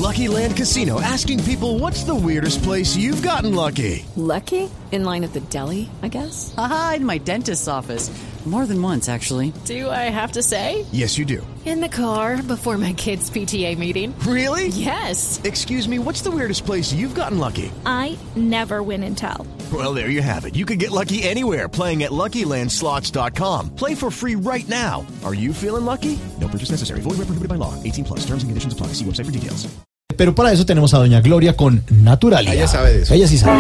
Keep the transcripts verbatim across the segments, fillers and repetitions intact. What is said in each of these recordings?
Lucky Land Casino, asking people, what's the weirdest place you've gotten lucky? Lucky? In line at the deli, I guess? Aha, in my dentist's office. More than once, actually. Do I have to say? Yes, you do. In the car before my kids' P T A meeting. Really? Yes. Excuse me, what's the weirdest place you've gotten lucky? I never win and tell. Well, there you have it. You can get lucky anywhere, playing at Lucky Land Slots dot com. Play for free right now. Are you feeling lucky? No purchase necessary. Void where prohibited by law. eighteen plus. Terms and conditions apply. See website for details. Pero para eso tenemos a doña Gloria con Naturalia. Ella sabe de eso. Ella sí sabe.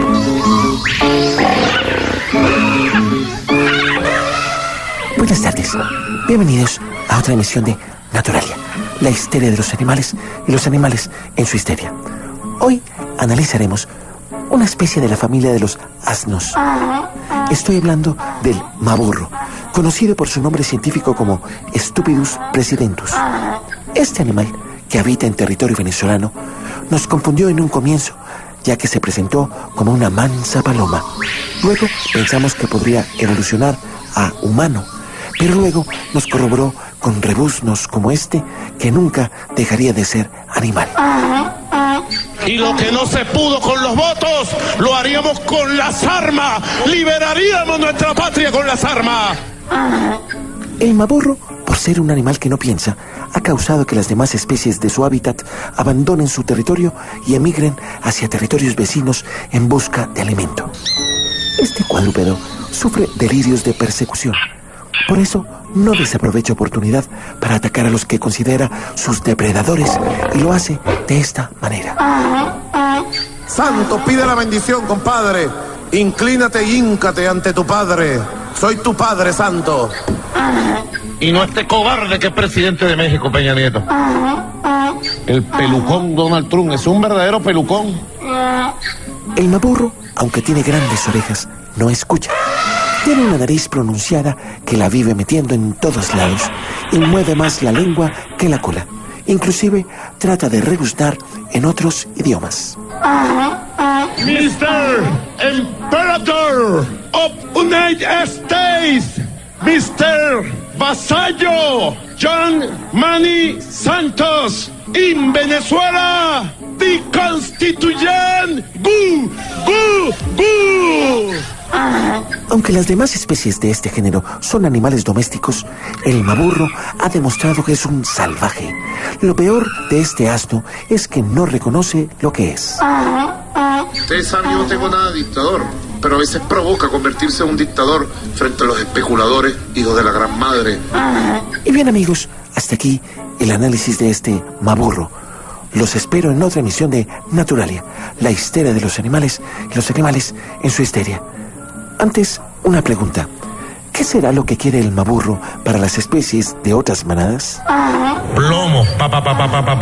Buenas tardes. Bienvenidos a otra emisión de Naturalia, la histeria de los animales y los animales en su histeria. Hoy analizaremos una especie de la familia de los asnos. Estoy hablando del maburro, conocido por su nombre científico como Stupidus presidentus. Este animal, que habita en territorio venezolano, nos confundió en un comienzo, ya que se presentó como una mansa paloma. Luego pensamos que podría evolucionar a humano, pero luego nos corroboró con rebuznos como este que nunca dejaría de ser animal. Y lo que no se pudo con los votos, lo haríamos con las armas. Liberaríamos nuestra patria con las armas. El maburro, por ser un animal que no piensa, ha causado que las demás especies de su hábitat abandonen su territorio y emigren hacia territorios vecinos en busca de alimento. Este cuadrúpedo sufre delirios de persecución. Por eso no desaprovecha oportunidad para atacar a los que considera sus depredadores, y lo hace de esta manera. Santo, pide la bendición, compadre. Inclínate y híncate ante tu padre. Soy tu padre, santo. Y no este cobarde que es presidente de México, Peña Nieto. El pelucón Donald Trump es un verdadero pelucón. El maburro, aunque tiene grandes orejas, no escucha. Tiene una nariz pronunciada que la vive metiendo en todos lados y mueve más la lengua que la cola. Inclusive trata de rebuznar en otros idiomas. mister Emperador of United States, mister Vasallo John Manny Santos, in Venezuela, the Constitution, gu, gu, gu. Aunque las demás especies de este género son animales domésticos, el maburro ha demostrado que es un salvaje. Lo peor de este asno es que no reconoce lo que es. Ustedes saben que yo no tengo nada de dictador, pero a veces provoca convertirse en un dictador frente a los especuladores, hijos de la gran madre. Y bien, amigos, hasta aquí el análisis de este maburro. Los espero en otra emisión de Naturalia, la histeria de los animales y los animales en su histeria. Antes, una pregunta. ¿Qué será lo que quiere el maburro para las especies de otras manadas? Plomo, pa, pa, pa, pa, pa, pa.